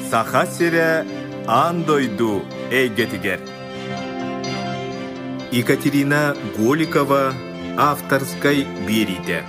саха сире андойду эйгетигер. Екатерина Голикова авторской бериде.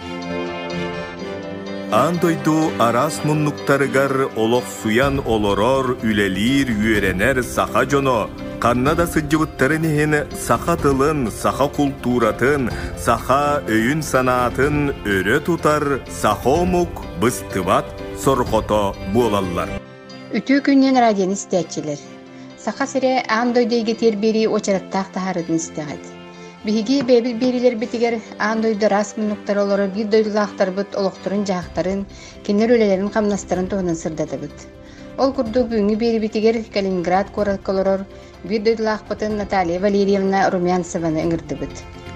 Андойду арас муннуктарыгар олох суян олорор үлелир үйренер саха жоно. Каннада сыджыбыттарын ехен саха тылын, саха культуратын, саха өйін санатын өрі тутар сахомук быстыбат сорхото болалар. Үтүү күннен радион истәтчилер. Саха сире андойдайга тербери очараттақ тахарын истәғад. Биһиги бэбил берилер битигер андойда расмынуктар олары bir дойлақтар быт олоқтырын жағақтарын, кенер өлелерін қамнастарын тоғынан сырдады быт. Ол күрді бүгінгі бери битигер Калининград кораккалорор bir дойлақ бытын Наталья Валерьевна Румянцеваны ыңырды быт.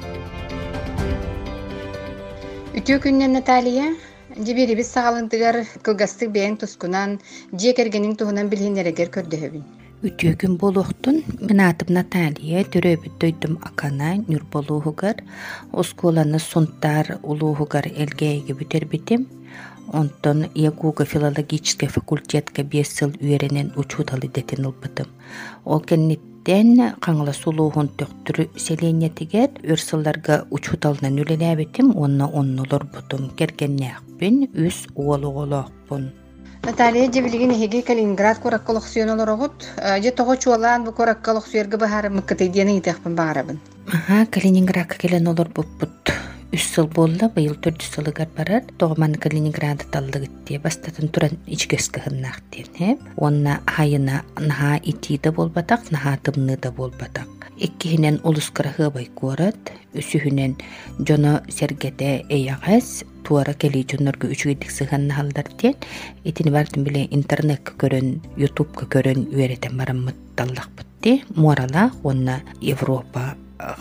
Үтүү күннен Наталья жебери біз сағалындығар кылгастық бәйін тұскунан, жекергенің туғынан білгенерегер көрдөбін. Үтүгүн болохтун мен атым Наталья төрөбүт дойдум акана нүр болуугар осколаны сунтар улуугар элгейге бүтербитим. Онтон Ягуга филологический факультетка 5 жыл үйренен учуталы детен ылбытым. Ол кеннеттен каңла сулуухун төктүрү селенетигер өрсылларга учуталынан үлелебитим, онна оннолор бутум кергеннеакпин үс уолуголоокпун. Наталья жебилигин хеги Калининград кораккалыксыйонолорогут же того чуалаан бу кораккалыксыйерге бахары мыккытыйдыяны итекпин багарабын. Калининградка келен олор буппут. 3 жыл болла, быйыл 4 жылыгар барар. Тогман Калининграда таллыгытте бастатын туран ичкеске хыннактен. Онна хайына наха итиде болбатак, наха тымныда болбатак. Иккихинен улускара хыбай корат, үсүхүнен жоно сергете эягас, туара кели жонорго үчүгедик сыганна халдартен. Итини бардым биле интернетке көрөн, ютубка көрөн үйретен бараммыт таллакпытти. Морала онна Европа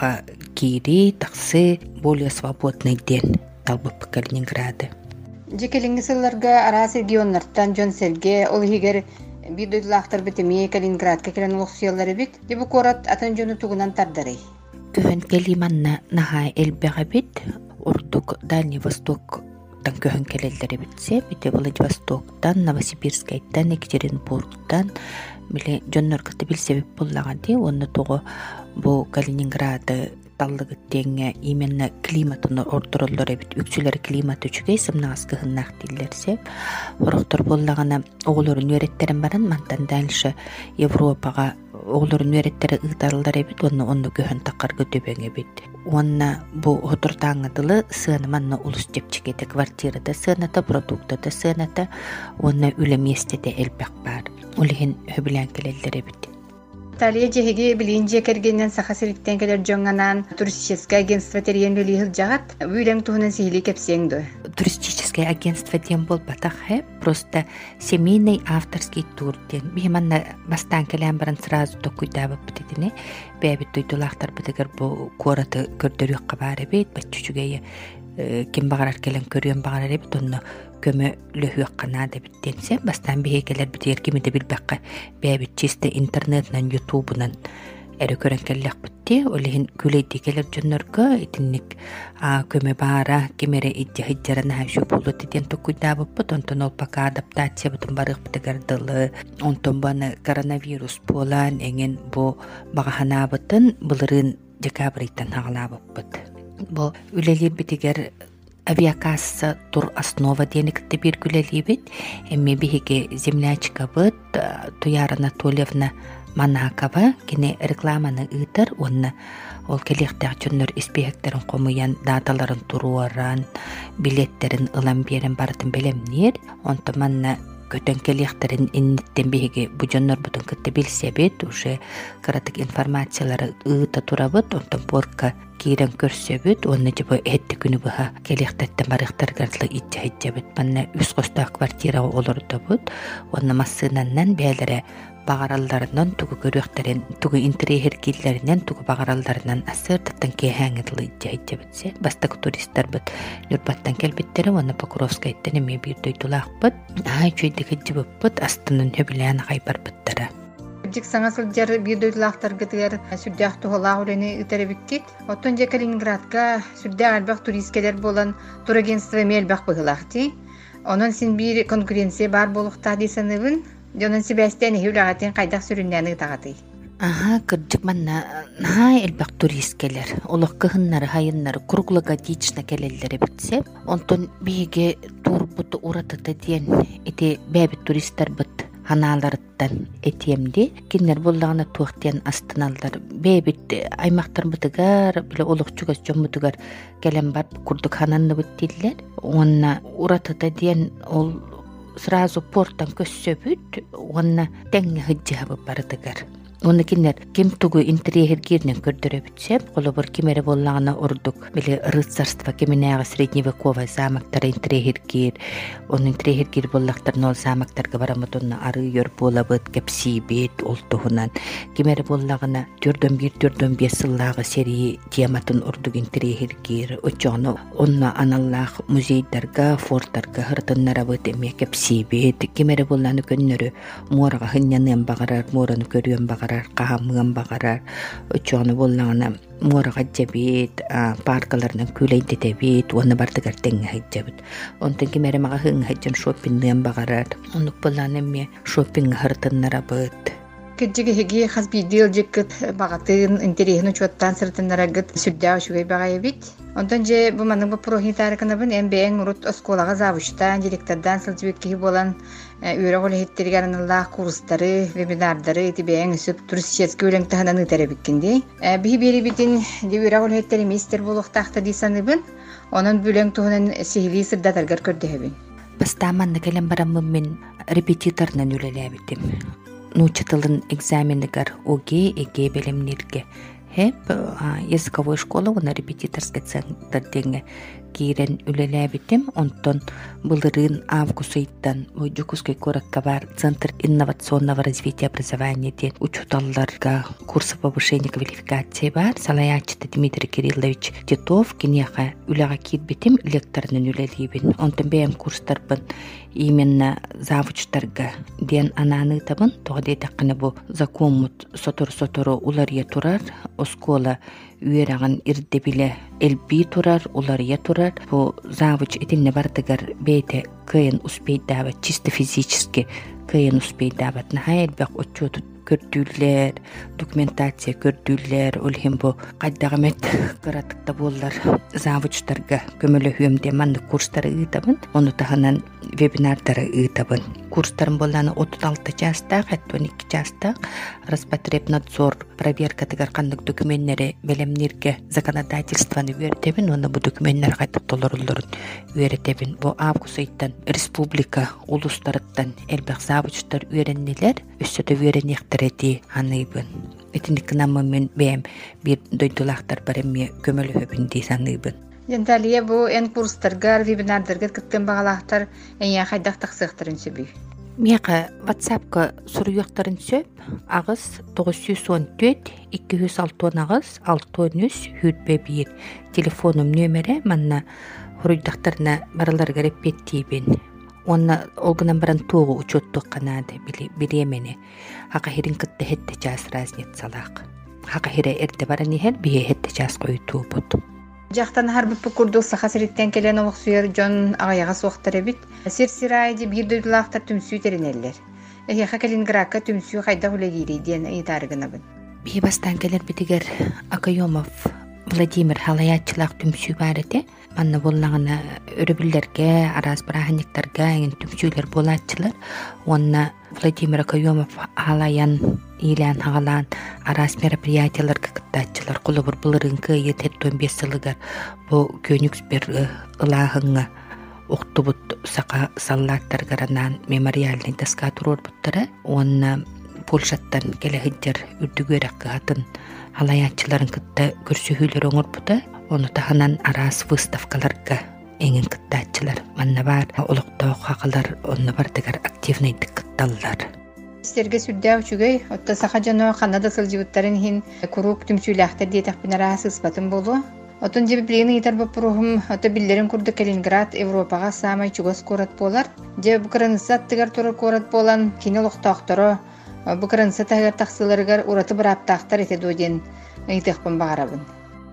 кири таксы более свободный ден талбып Калининграды. Жекелинги сылларга арас регионнартан жон серге ол хигер bir doylақтар битеми Калининградка келен улуксуялары бит. Дебу корат атын жону тугунан тардарый. Көхөн келиманна наха элбега бит. Урдук Дальний Восток тан көхөн келелдери битсе, бите Владивостоктан, Новосибирскайттан, Екатеринбургтан биле жонноргаты билсебеп боллаганди, онны того бу Калининграды таллыгыттеңе именно климатын ордуроллор эбит, үксүлөр климат үчүгей сымнагас кыхыннак диллерсе, ороктор боллагана оголорун үйреттерин баран мантан дальше Европага оголорун үйреттери ыйтарылдар эбит, онны көхөн такаргы дөбөң эбит. Онна бу хотуртаңыдылы сыны манна улус жепчикете квартирада сыната, продуктада сыната, онна үле местеде элбек бар. Олихин хөбүлән келелдер эбит. Талия жеһиги билинже кергеннен сахасириктен келер жоңганан туристическое агентство терен үлихил жагат, бүлең туһунан сихили кепсеңдө. Туристическое агентство тем бол батахе, просто семейный авторский тур ден. Бихманна бастан келен баран сразу токуйдабы битидине, бэбит дойдулахтар битигер бу кораты көрдөрүк кабары бит, баччугeye ким багарар келен көрүн багарар бит, онно көмө лөхүк кана деп биттенсе, бастан бихекелер битер кимиде билбекке, бэбит чисте интернетнан, ютубунан әрі көрін кәлләк бітті, олығын күлейді келер жоннорға етіннік көмі бара, кемері идді хиджараны хәвші болу деден тұқыйда бұппыт, онтон ол пака адаптация бұтын барық бітігірділі, онтон баны коронавирус болан, әңін бұ бағахана бұтын бұлырын декабрыйтан ағыла бұппыт. Бұ үлелер бітігер авиакасса тур основа денекті бір күлелі біт, әмме бігеге землячка бұт, Туяра Анатольевна Манакова кене рекламаны ыйтар, онна ол келектәк жөннөр испехектерин комуян даталарын туруаран, билеттерин ылан берен бардын белемнер, онта манна көтөн келектерин инниттен беге бу жөннөр бутун кытты билсебет, уже каратык информациялары ыйта турабыт, онта борка кирен көрсөбүт, онна жыбы этти күнү быха келектеттен барыктар гарлы итчебит, манна үс костак квартира олордобут, онна массынаннан бээлере бағаралдарынан тугу көрөктерин, тугу интерьер киллеринен тугу бағаралдарынан асыртаттан кеһәңгеле итче битсе, бастак туристтер бит Нурбаттан келбиттери, оны Покровскайттан эме бир дойтулакпыт, чөйдеги жибыппыт, астынын хөбүлән хайбар биттери. Жик саңасыл жар бир дойтулактар гытыгар сүрдәк тугала үрәне үтеребиккит. Оттон же Калининградка сүрдәк албак туристкелер болан турагентство мелбак быгылакти. Онон син бир конкуренция бар болукта дисенебин. Донон Себастьян хүләгәтен кайдак сүрүннәне тагаты. Ага, кырдык манна най элбак турист келер. Олох кыһыннары, хайыннары, круглогодично келеллери битсеп, онтон биге турбут уратыты диен эти бәбит туристтар бит ханаларыттан этемди. Кинер боллагына туактен астыналдар. Бәбит аймактар битигар, биле олох чугас жоммутугар келен бар курдук хананны биттилер. Онна уратыты диен ол сразу порттан көссөбүт, онна теңге хыджабы бардыгар. Оны кинер кем тугу интерьер гирнен көрдөрө бүтсеп, колобор кимере боллагына урдук. Биле рыцарство кеменега средневековый замактар интерьер гир, он интерьер гир боллактар нол замактарга барамытынна ары йөр болабыт кепсибет олтугунан. Кимере боллагына 4-1 сыллагы серии тематын урдук интерьер гир, очону онна аналлах музейдарга, форттарга хыртыннара быт эме кепсибет. Кимере болланы көннөрү морага хыннянын багарар, мораны көрүөн багарар. Каамыган багарар, очону боллагына морага жабит, паркаларынан күлейдетебит, оны бардыгар теңге хайджабит. Онтон кимере мага хың хайджан шоппингден багарар, онук боллагына эме шоппинг хыртыннара быт. Кеджиге хеги хасбидил жеккет багатын интерьерны чоттан сыртыннара гыт сүддә шугай багайбит. Онтон же бу маның бу прохитарыкны бин эмбең урут осколага завучтан директордан сылжыбекки болан үйрөгөл хеттерген Аллах курстары, вебинардары тибең сүп туристический үлең тахананы теребиккинди. Би бери битин үйрөгөл хеттери мистер булуктакта дисаныбын. Онун бүлең туһунан сихили сырдатаргар көрдөһөбүн. Бастаманны келен барамын мен репетиторнан үлелебитим. Нучатылын экзамендигар ОГЭ, ЭГЭ белемнерге. Хеп языковой школа, она репетиторский центр деньги кирен үлелебитим. Онтон былырын августайттан Жукускай коракка бар Центр инновационного развития образования ден учуталларга курсы повышения квалификации бар. Салаячты Дмитрий Кириллович Титов кинеха үлега кирбитим лекторнын үлелебин. Онтон бэм курстарбын именно завучтарга ден ананы табын. Тоғдей таққыны бу закомут сотор-сотору улария турар. Оскола үйераган ирдебиле элби турар, улария турар. Бу завуч этинне бардыгар бейте кыйын успейдабат, чисто физически кыйын успейдабат. Нахай элбек отчету көрдүллер, документация көрдүллер, олхим бу кайдагамет кыратыкта боллар завучтарга көмөлө хүөмде манды курстары ыйтабын, ону таханан вебинардары ыйтабын. Курстарын болланы 36 частак, 12 частак, Роспотребнадзор проверка тыгар кандык документтери белемнерге законодательствоны үйрөтебин, оны бу документтер кайта толорулурун үйрөтебин. Бу август айттан республика улустарыттан элбек завучтар үйрөннелер, өссөтө үйрөнектерети аныйбын. Этиндик намы мен бэм бир дойдулактар бар эми көмөлөбүн дейсаныбын. Янталия бу эн курстаргар, вебинардарга кыттын багалактар эне хайдак таксыктарын сөбүй. Мияка WhatsApp-ка суруяктарын сөп, агыс 914 206 агыс 63 хүрбебир. Телефонум нөмере манна хуруйдактарына бараларга репеттибин. Онна олгынан баран тоғы учеттук канады биремени. Хака хирин кытты хетте час разнит салак. Хака хире эрде баран ихер бие хетте час койту бут. Жақтан харбы пүкурдук сахасыриттен келен олық сүйер жон ағаяға соқтар әбіт. Сир-сирайды бір дөйділақтар түмсүй терінелер. Эхеха Калининградка түмсүй қайда хүлегейді ден ұйтарығына бін. Бей бастан келер бітігер Акайомов Владимир халаятчылақ түмсүй бар еті. Манна боллағына өрібілерге, араз бараханиктарға еңін түмсүйлер болатчылар. Онна Владимир Акайомов халаян илян хағалан араз мероприятияларға кыттатчылар. Қолы бір бұлырын күйі 15 сылығар бұл көнікс бір ылағыңа оқты бұд сақа саллаттарғаранан мемориальный доска тұрор бұттары. Онна Польшаттан келе хыджар үрдігөрек қатын халаятчыларын кытта көрсүхүлөр оңор бұта. Оны таханан арас выставкаларга эңин кыттаатчылар манна бар, олоктоо хакалар онна бардыгар активныйдык кытталлар. Стерге сүрдә үчүгөй, отта саха жано Канада сылжыбыттарын хин курук түмсүйләхтер диетак бинарасы ыспатын болу. Отун жеби билени итар бапурухум, отта биллерин курды Калининград, Европага самай чугас корат болар. Жеби букранысат тыгар турар корат болан кини лохтоохторо, букранысат тагар таксыларыгар ураты бираптаахтар эте доден ыйтыхпын багарабын.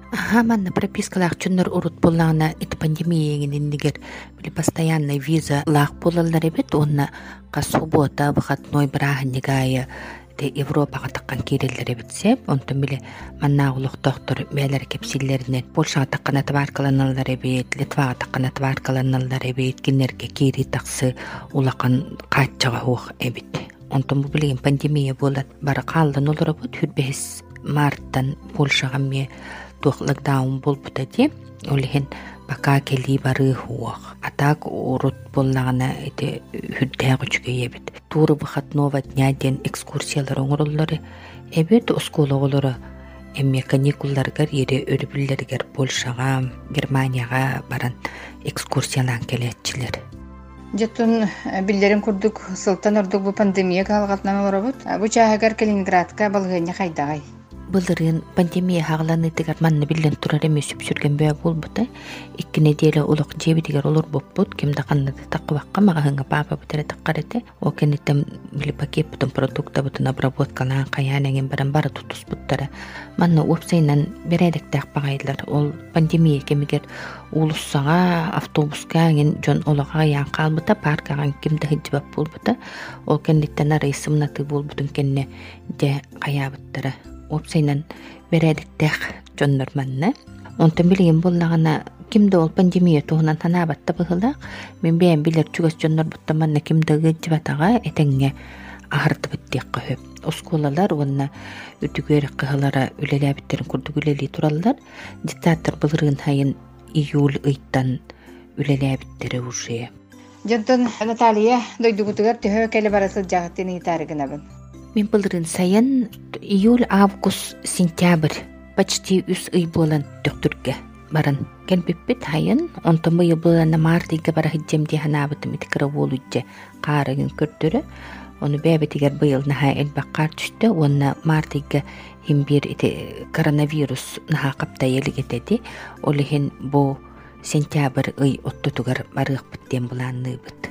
Манна пропискалах чуннар урут боллағына ит пандемияңын иннигер били постоянный виза лах болалар эбит, онна қа суббота выходной браханнигая Европаға таққан керелер эбитсе, онтон биле манна улуq доктор бәлер кепсиллеринен Польшаға таққан атваркаланалар эбит, Литваға таққан атваркаланалар эбит, кинерге кери тақсы улақан қатчаға хуқ эбит. Онтон бу билеген пандемия болат бара қалдан олар бут хүрбехис марттан Польшаға ме тух локдаун болбута де, олихен бака кели бары хуақ. Атак урут боллағына эти хүддәғы чүге ебет. Туры бұхат нова дня ден экскурсиялар оңырылары эбет оскологолары эмме каникулларгар ере өрбүллергер Польшаға, Германияға баран экскурсиялан келетчилер. Жеттун биллерин курдук сылтан ордук бу пандемия калгатнан олоробут. Бу чаагар Калининградка балгыня хайдагай. Былырын пандемия хағыланы тегер манны билен турар эмес сүпсүрген бөй болбута. 2 неделя улық жеби тегер олар боппут. Кемді қаннады таққыбаққа маға хыңға папа бұтары таққарыты. О кенеттен били пакет бұтын продукта бұтын обработкалан қаянеген баран бары тутус бұттары. Манны опсайнан бередік тақпағайлар. Ол пандемия кемегер улуссаға, автобуска ген жон олаға ян қалбыта, паркаған кемді хыджыбап болбута. Ол кенеттен арайсымнаты болбутын кенне де қаябыттары. Опсайнан бередиктех жоннор манна. Онтон билген боллагана кимде ол пандемия туһунан танабатта быһылак. Мен бэм билер чугас жоннор бутта манна кимде гыжбатага этеңге ахырты биттек көп. Осколалар онна үтүгөр кыһалара үлеләбиттерин курдугүлели тураллар. Диктатор былырын хайын июль ыйттан үлеләбиттери уже. Жонтон Наталья дойдугутугар төһө келе барасы жагытын итарыгынабын. Мен былырын сайын июль, август, сентябрь почти үс ый болан төктүргө баран келбиппит хайын. Онтон быйыл болан мартыйга бара хиджем диханабытым итикара болуйдже қарыгын көрдөрө. Onu bäbetiger bıйыл наха элбаққар түшті. Онна мартыйга химбир коронавирус наха қапта елігетеді. Олихин бу сентябрь ый оттутугар барык биттен буланны бит.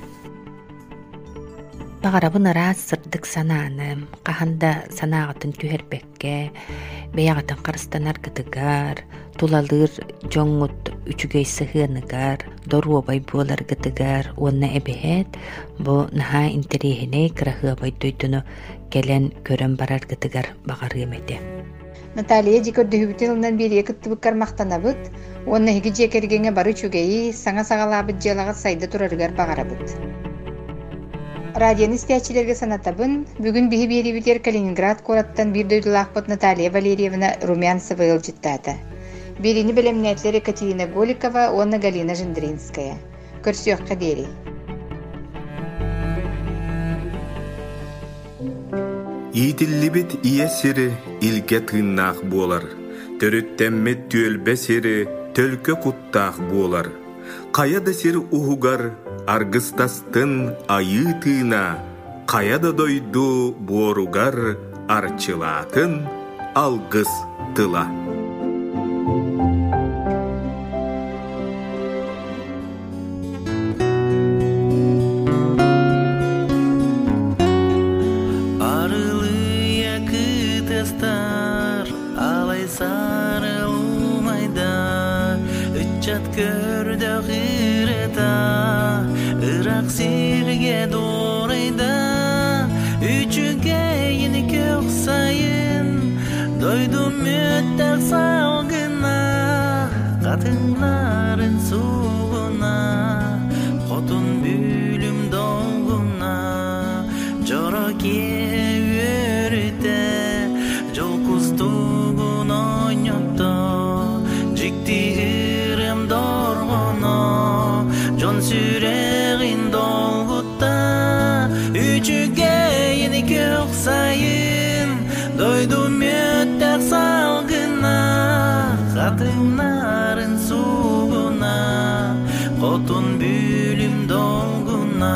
Бағарабын ырас сырдык сананым, қаханда санағатын түхербекке, бейағатын қарыстанар гытыгар, тулалыр жоңут үчүгей сыхыныгар, дору бай болар гытыгар, онна эбехет, бу наха интерехіне кырахы бай дойдуну келен көрөн барар гытыгар бағары емеде. Наталья жикөрдүхүбүтүнөн бери кыттыбыккар мактанабыт, онна хиги жекергенге бары чүгейи саңа сагалабыт жалага сайда турарыгар багарабыт. Радион истячилерге санатабын, бүгүн биһи биэрибитер Калининград кораттан бир дойдулаахпыт Наталья Валерьевна Румянцева ылжыттаата. Бирини белемнәтлер Екатерина Голикова, онна Галина Жендринская. Көрсөккө дери. Итиллибит иесири илге тыыннаах буолар. Төрүттэммет түөлбесири төлкө куттаах буолар. Каяда сир ухугар аргыстастын айы тыына, каяда дойду боругар арчылаатын алгыс тыла. Арылыя кытыстар, алай сарылу майда, үтчат көрдө гырыта, ырак сирге дорайда, үчүгө йини көк сайын, дойду мүттәк салгына, катынларын сугуна, котун бүлүм долгуна, жороке өрүтө, жол кустугун ойнотто, жикти ырым доргоно, жон сүрегин долгутта, үчүгө йини көк сайын, дойду мүттәк салгына, катынларын сугуна, котун бүлүм долгуна.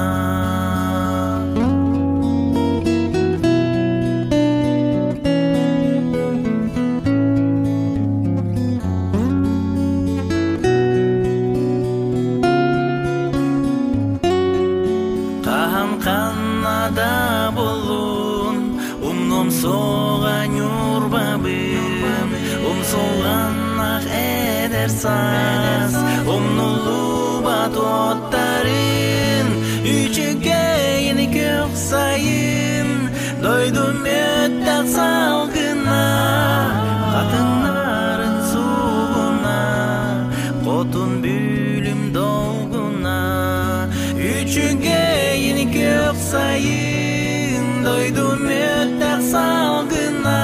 Канада болун, умном соған юрбабым, Solğanaq eder saz Omnulu bat ottarın Üçüge yeni kök sayın Doydum öttak salgına Katınların suğuna Qotun bülüm dolguna Üçüge yeni kök sayın Doydum öttak salgına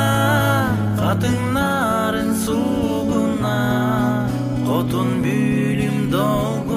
Katınların suğuna Qotun bülüm dolguna